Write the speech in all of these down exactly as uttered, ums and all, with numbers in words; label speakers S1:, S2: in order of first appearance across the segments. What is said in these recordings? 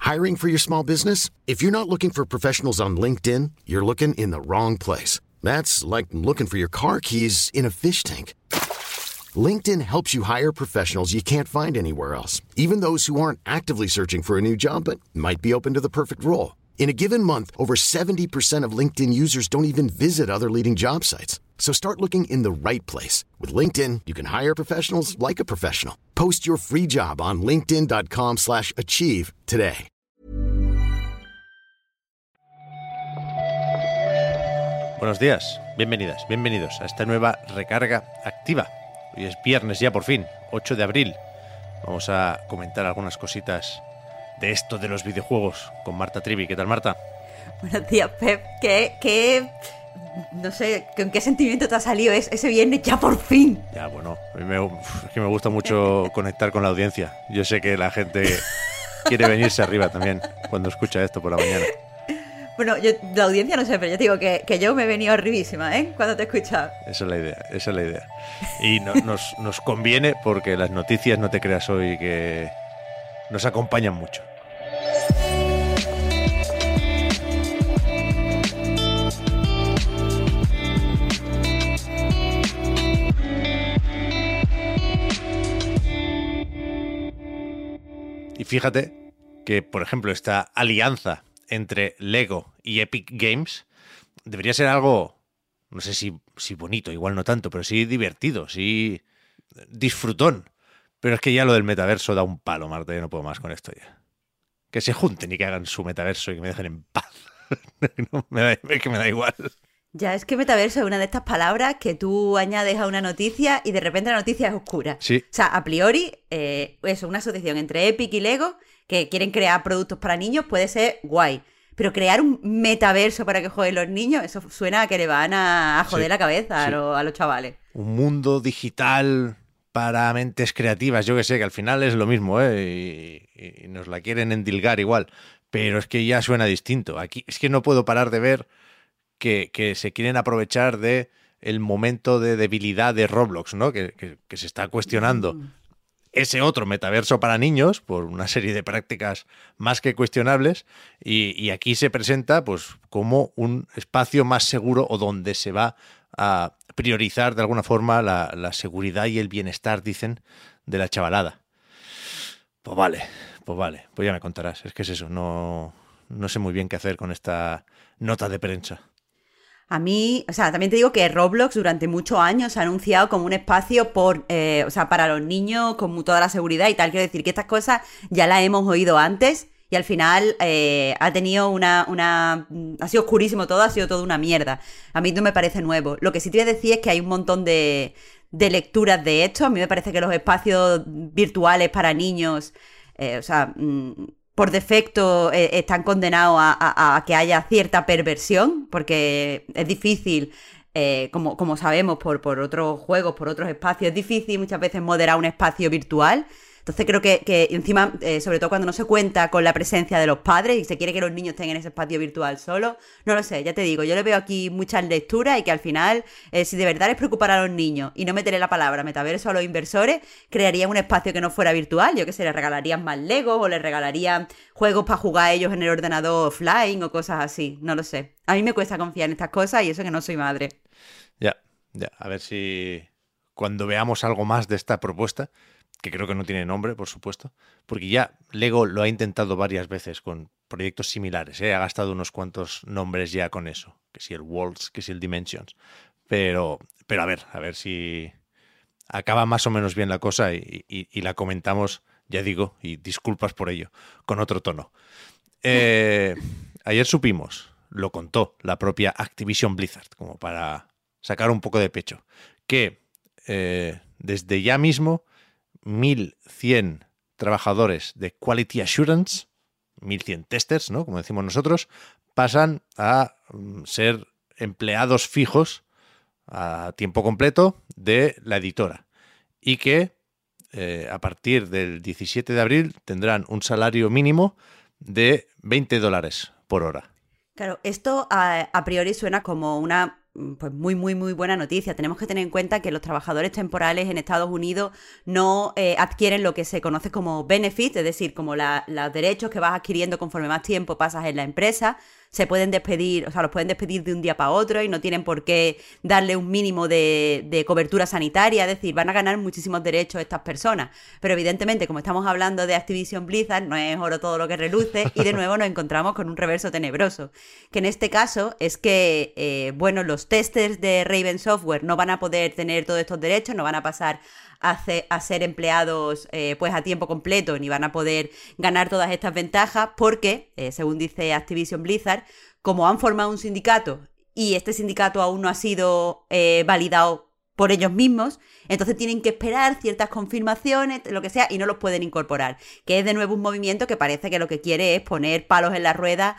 S1: Hiring for your small business? If you're not looking for professionals on LinkedIn, you're looking in the wrong place. That's like looking for your car keys in a fish tank. LinkedIn helps you hire professionals you can't find anywhere else, even those who aren't actively searching for a new job but might be open to the perfect role. In a given month, over seventy percent of LinkedIn users don't even visit other leading job sites. So start looking in the right place. With LinkedIn, you can hire professionals like a professional. Post your free job on linkedin.com slash achieve today.
S2: Buenos días, bienvenidas, bienvenidos a esta nueva recarga activa. Hoy es viernes ya por fin, ocho de abril. Vamos a comentar algunas cositas de esto de los videojuegos con Marta Trivi. ¿Qué tal, Marta?
S3: Buenos días, Pep. ¿Qué, qué, no sé, con qué sentimiento te ha salido ese viernes ya por fin?
S2: Ya, bueno, a mí me, es que me gusta mucho conectar con la audiencia. Yo sé que la gente quiere venirse arriba también cuando escucha esto por la mañana.
S3: Bueno, yo, la audiencia no sé, pero yo te digo que, que yo me he venido arribísima, ¿eh? Cuando te he escuchado.
S2: Esa es la idea, esa es la idea. Y no, nos, nos conviene porque las noticias, no te creas hoy, que nos acompañan mucho. Y fíjate que, por ejemplo, esta alianza entre Lego y Epic Games debería ser algo, no sé si, si bonito, igual no tanto, pero sí divertido, sí disfrutón. Pero es que ya lo del metaverso da un palo, Marta, yo no puedo más con esto ya. Que se junten y que hagan su metaverso y que me dejen en paz. No, me da, es que me da igual.
S3: Ya, es que metaverso es una de estas palabras que tú añades a una noticia y de repente la noticia es oscura.
S2: Sí.
S3: O sea, a priori, eh, eso, una asociación entre Epic y Lego que quieren crear productos para niños puede ser guay. Pero crear un metaverso para que jueguen los niños, eso suena a que le van a, a joder
S2: sí,
S3: la cabeza
S2: sí.
S3: a, lo, a los chavales.
S2: Un mundo digital para mentes creativas, yo que sé, que al final es lo mismo, ¿eh? Y, y nos la quieren endilgar igual. Pero es que ya suena distinto. Aquí es que no puedo parar de ver que, que se quieren aprovechar de el momento de debilidad de Roblox, ¿no? Que, que, que se está cuestionando mm. ese otro metaverso para niños por una serie de prácticas más que cuestionables y, y aquí se presenta pues como un espacio más seguro o donde se va a priorizar de alguna forma la, la seguridad y el bienestar, dicen, de la chavalada. Pues vale, pues vale, pues ya me contarás. Es que es eso, no, no sé muy bien qué hacer con esta nota de prensa.
S3: A mí, o sea, también te digo que Roblox durante muchos años se ha anunciado como un espacio por, eh, o sea, para los niños con toda la seguridad y tal. Quiero decir que estas cosas ya las hemos oído antes y al final eh, ha tenido una, una... ha sido oscurísimo todo, ha sido todo una mierda. A mí no me parece nuevo. Lo que sí te voy a decir es que hay un montón de, de lecturas de esto. A mí me parece que los espacios virtuales para niños, eh, o sea... Mmm, por defecto eh, están condenados a, a, a que haya cierta perversión, porque es difícil, eh, como, como sabemos por, por otros juegos, por otros espacios, es difícil muchas veces moderar un espacio virtual. Entonces creo que, que encima, eh, sobre todo cuando no se cuenta con la presencia de los padres y se quiere que los niños estén en ese espacio virtual solo, no lo sé, ya te digo, yo le veo aquí muchas lecturas y que al final, eh, si de verdad les preocupara a los niños y no meterle la palabra metaverso a los inversores, crearían un espacio que no fuera virtual, yo qué sé, les regalarían más Legos o les regalarían juegos para jugar ellos en el ordenador offline o cosas así, no lo sé. A mí me cuesta confiar en estas cosas y eso que no soy madre.
S2: Ya, ya, a ver si cuando veamos algo más de esta propuesta, que creo que no tiene nombre, por supuesto, porque ya Lego lo ha intentado varias veces con proyectos similares, ¿eh? Ha gastado unos cuantos nombres ya con eso, que si el Worlds, que si el Dimensions, pero, pero a ver, a ver si acaba más o menos bien la cosa y, y, y la comentamos, ya digo, y disculpas por ello, con otro tono. Eh, ayer supimos, lo contó la propia Activision Blizzard, como para sacar un poco de pecho, que eh, desde ya mismo mil cien trabajadores de Quality Assurance, mil cien testers, ¿no? Como decimos nosotros, pasan a um, ser empleados fijos a tiempo completo de la editora y que eh, a partir del diecisiete de abril tendrán un salario mínimo de veinte dólares por hora.
S3: Claro, esto a, a priori suena como una pues muy, muy, muy buena noticia. Tenemos que tener en cuenta que los trabajadores temporales en Estados Unidos no eh, adquieren lo que se conoce como benefit, es decir, como la, los derechos que vas adquiriendo conforme más tiempo pasas en la empresa. Se pueden despedir, o sea, los pueden despedir de un día para otro y no tienen por qué darle un mínimo de, de cobertura sanitaria, es decir, van a ganar muchísimos derechos estas personas. Pero evidentemente, como estamos hablando de Activision Blizzard, no es oro todo lo que reluce y de nuevo nos encontramos con un reverso tenebroso, que en este caso es que, eh, bueno, los testers de Raven Software no van a poder tener todos estos derechos, no van a pasar a, ce- a ser empleados eh, pues a tiempo completo ni van a poder ganar todas estas ventajas porque, eh, según dice Activision Blizzard, como han formado un sindicato y este sindicato aún no ha sido eh, validado por ellos mismos, entonces tienen que esperar ciertas confirmaciones, lo que sea, y no los pueden incorporar. Que es de nuevo un movimiento que parece que lo que quiere es poner palos en la rueda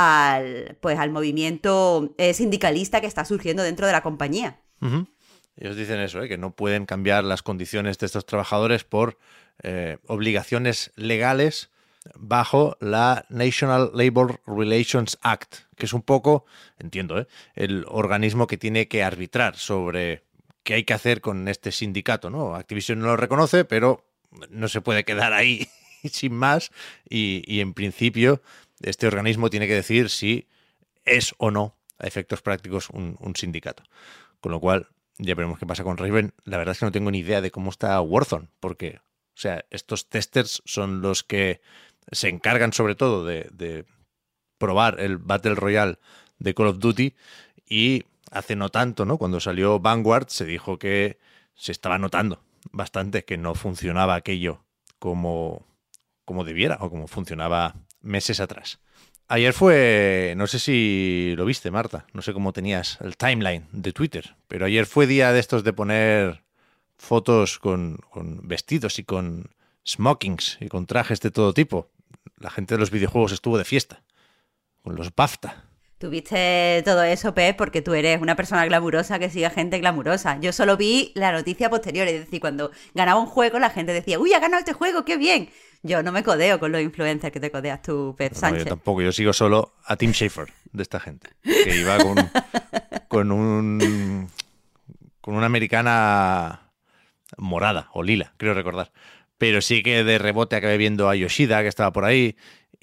S3: al, pues, al movimiento eh, sindicalista que está surgiendo dentro de la compañía.
S2: Uh-huh. Ellos dicen eso, ¿eh? Que no pueden cambiar las condiciones de estos trabajadores por eh, obligaciones legales bajo la National Labor Relations Act, que es un poco, entiendo, ¿eh? el organismo que tiene que arbitrar sobre qué hay que hacer con este sindicato, ¿no? Activision no lo reconoce, pero no se puede quedar ahí sin más y, y en principio este organismo tiene que decir si es o no, a efectos prácticos, un, un sindicato. Con lo cual, ya veremos qué pasa con Raven. La verdad es que no tengo ni idea de cómo está Warzone, porque, o sea, estos testers son los que se encargan sobre todo de, de probar el Battle Royale de Call of Duty y hace no tanto, ¿no? Cuando salió Vanguard se dijo que se estaba notando bastante que no funcionaba aquello como, como debiera o como funcionaba meses atrás. Ayer fue, no sé si lo viste, Marta, no sé cómo tenías el timeline de Twitter, pero ayer fue día de estos de poner fotos con, con vestidos y con smokings y con trajes de todo tipo. La gente de los videojuegos estuvo de fiesta, con los BAFTA.
S3: Tuviste todo eso, Pep, porque tú eres una persona glamurosa que sigue a gente glamurosa. Yo solo vi la noticia posterior, es decir, cuando ganaba un juego la gente decía, uy, ha ganado este juego, qué bien. Yo no me codeo con los influencers que te codeas tú, Pep Sánchez.
S2: No, yo tampoco, yo sigo solo a Tim Schafer de esta gente, que iba con, con un con una americana morada o lila, creo recordar. Pero sí que de rebote acabé viendo a Yoshida, que estaba por ahí,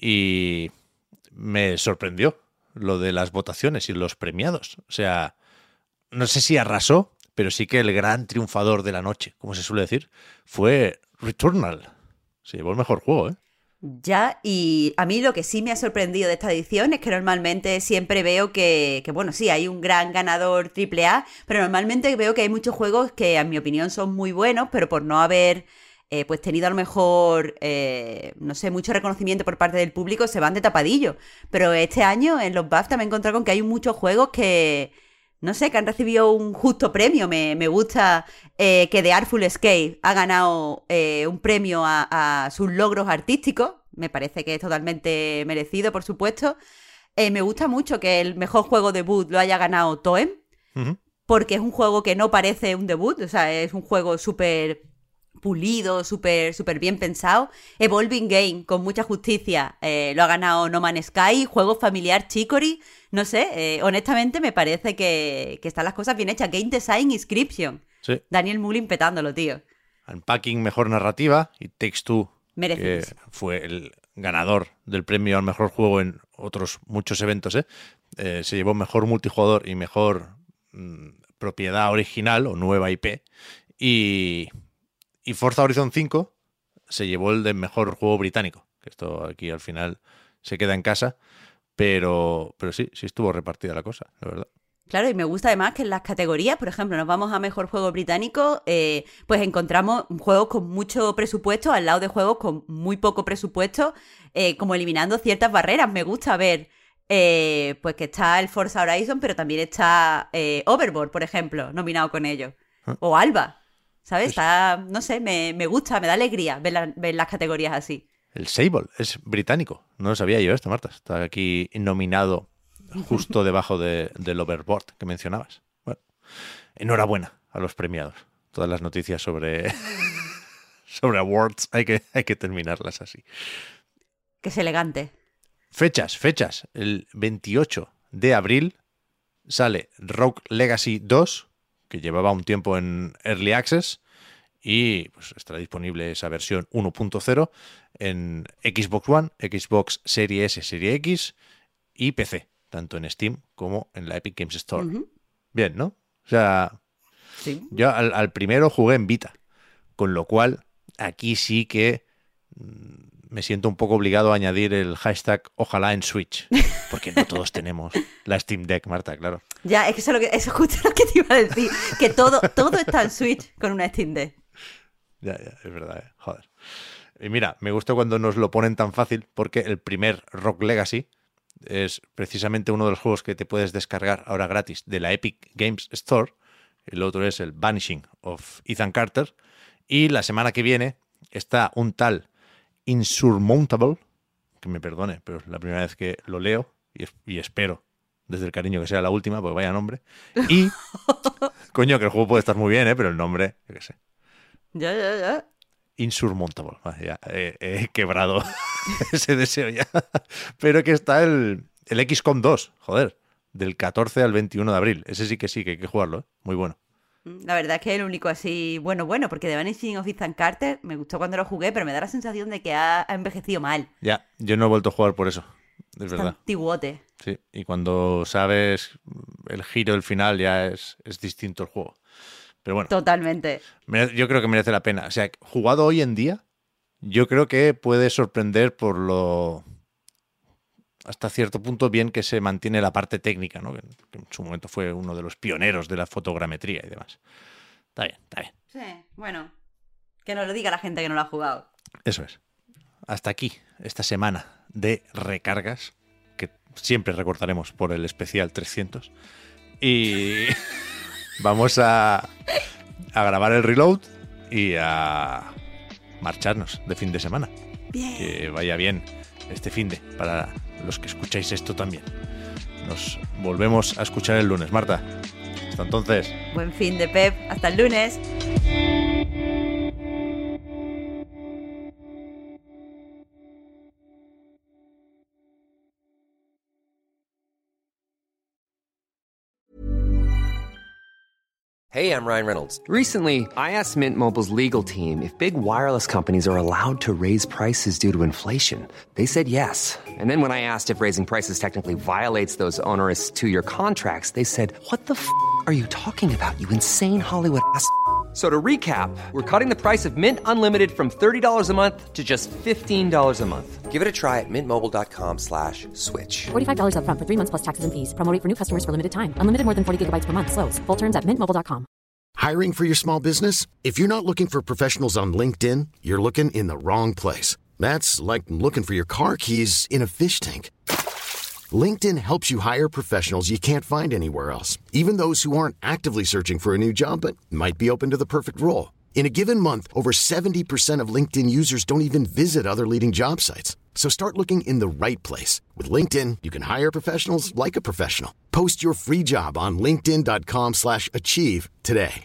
S2: y me sorprendió lo de las votaciones y los premiados. O sea, no sé si arrasó, pero sí que el gran triunfador de la noche, como se suele decir, fue Returnal. Se llevó el mejor juego, ¿eh?
S3: Ya, y a mí lo que sí me ha sorprendido de esta edición es que normalmente siempre veo que, que bueno, sí, hay un gran ganador triple A, pero normalmente veo que hay muchos juegos que, en mi opinión, son muy buenos, pero por no haber eh, pues tenido a lo mejor, eh, no sé, mucho reconocimiento por parte del público, se van de tapadillo. Pero este año en los BAFTA me he encontrado con que hay muchos juegos que, no sé, que han recibido un justo premio. Me, me gusta eh, que The Artful Escape ha ganado eh, un premio a, a sus logros artísticos. Me parece que es totalmente merecido, por supuesto. Eh, me gusta mucho que el mejor juego debut lo haya ganado Toem, uh-huh. porque es un juego que no parece un debut, o sea, es un juego súper pulido, súper súper bien pensado. Evolving Game, con mucha justicia, eh, lo ha ganado No Man's Sky, juego familiar Chicory. No sé, eh, honestamente me parece que, que están las cosas bien hechas. Game Design Inscription. Sí. Daniel Mullin petándolo, tío.
S2: Unpacking, mejor narrativa, y Takes Two, que fue el ganador del premio al mejor juego en otros muchos eventos, ¿eh? Eh, se llevó mejor multijugador y mejor mmm, propiedad original o nueva I P. Y, y Forza Horizon cinco se llevó el de mejor juego británico, que esto aquí al final se queda en casa, pero, pero sí, sí estuvo repartida la cosa, la verdad.
S3: Claro, y me gusta además que en las categorías, por ejemplo, nos vamos a mejor juego británico, eh, pues encontramos juegos con mucho presupuesto al lado de juegos con muy poco presupuesto, eh, como eliminando ciertas barreras. Me gusta ver eh, pues que está el Forza Horizon, pero también está eh, Overboard, por ejemplo, nominado con ellos. ¿Ah? O Alba, ¿sabes? Está, no sé, me, me gusta, me da alegría ver, la, ver las categorías así.
S2: El Sable es británico, no lo sabía yo esto, Marta. Está aquí nominado justo debajo de, del Overboard que mencionabas. Bueno, enhorabuena a los premiados. Todas las noticias sobre, sobre awards hay que, hay que terminarlas así.
S3: Que es elegante.
S2: Fechas, fechas. El veintiocho de abril sale Rogue Legacy dos, que llevaba un tiempo en Early Access, y pues estará disponible esa versión uno punto cero en Xbox One, Xbox Series S, Series X y P C, tanto en Steam como en la Epic Games Store. Uh-huh. Bien, ¿no? O sea, sí. Yo al, al primero jugué en Vita, con lo cual aquí sí que me siento un poco obligado a añadir el hashtag ojalá en Switch, porque no todos tenemos la Steam Deck, Marta, claro.
S3: Ya, es que eso es, lo que, eso es justo lo que te iba a decir, que todo, todo está en Switch con una Steam Deck.
S2: Ya, ya, es verdad, eh. Joder. Y mira, me gusta cuando nos lo ponen tan fácil, porque el primer Rogue Legacy es precisamente uno de los juegos que te puedes descargar ahora gratis de la Epic Games Store. El otro es el Vanishing of Ethan Carter. Y la semana que viene está un tal Insurmountable, que me perdone, pero es la primera vez que lo leo y, es, y espero desde el cariño que sea la última, porque vaya nombre. Y, coño, que el juego puede estar muy bien, ¿eh? Pero el nombre, yo qué sé.
S3: Ya, ya, ya.
S2: Insurmountable. Vale, ya he, he quebrado ese deseo ya. Pero que está el, el X COM dos, joder, del catorce al veintiuno de abril. Ese sí que sí, que hay que jugarlo, ¿eh? Muy bueno.
S3: La verdad es que es el único así, bueno, bueno, porque The Vanishing of Ethan Carter me gustó cuando lo jugué, pero me da la sensación de que ha, ha envejecido mal.
S2: Ya, yo no he vuelto a jugar por eso, es
S3: Está
S2: verdad.
S3: Antiguote.
S2: Sí, y cuando sabes el giro, el final, ya es, es distinto el juego. Pero bueno.
S3: Totalmente.
S2: Yo creo que merece la pena. O sea, jugado hoy en día, yo creo que puede sorprender por lo... hasta cierto punto bien que se mantiene la parte técnica, ¿no? Que, que en su momento fue uno de los pioneros de la fotogrametría y demás. Está bien, está bien.
S3: Sí, bueno, que nos lo diga la gente que no lo ha jugado.
S2: Eso es. Hasta aquí, esta semana de recargas, que siempre recordaremos por el especial trescientos. Y vamos a, a grabar el reload y a marcharnos de fin de semana.
S3: Bien.
S2: Que vaya bien este finde para los que escucháis esto también. Nos volvemos a escuchar el lunes, Marta. Hasta entonces.
S3: Buen fin de Pep. Hasta el lunes.
S4: Hey, I'm Ryan Reynolds. Recently, I asked Mint Mobile's legal team if big wireless companies are allowed to raise prices due to inflation. They said yes. And then when I asked if raising prices technically violates those onerous two-year contracts, they said, what the f*** are you talking about, you insane Hollywood ass f- So to recap, we're cutting the price of Mint Unlimited from thirty dollars a month to just fifteen dollars a month. Give it a try at mintmobile.com slash switch.
S5: forty-five dollars up front for three months plus taxes and fees. Promo rate for new customers for limited time. Unlimited more than forty gigabytes per month. Slows full terms at mint mobile dot com.
S1: Hiring for your small business? If you're not looking for professionals on LinkedIn, you're looking in the wrong place. That's like looking for your car keys in a fish tank. LinkedIn helps you hire professionals you can't find anywhere else, even those who aren't actively searching for a new job but might be open to the perfect role. In a given month, over seventy percent of LinkedIn users don't even visit other leading job sites. So start looking in the right place. With LinkedIn, you can hire professionals like a professional. Post your free job on linkedin.com slash achieve today.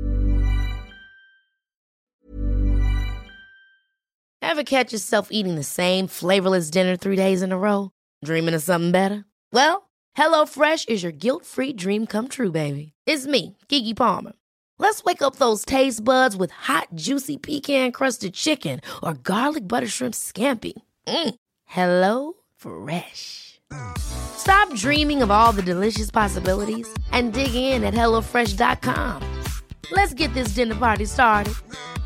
S6: Ever catch yourself eating the same flavorless dinner three days in a row? Dreaming of something better? Well, HelloFresh is your guilt-free dream come true, baby. It's me, Keke Palmer. Let's wake up those taste buds with hot, juicy pecan-crusted chicken or garlic butter shrimp scampi. Mm. Hello Fresh. Stop dreaming of all the delicious possibilities and dig in at hello fresh dot com. Let's get this dinner party started.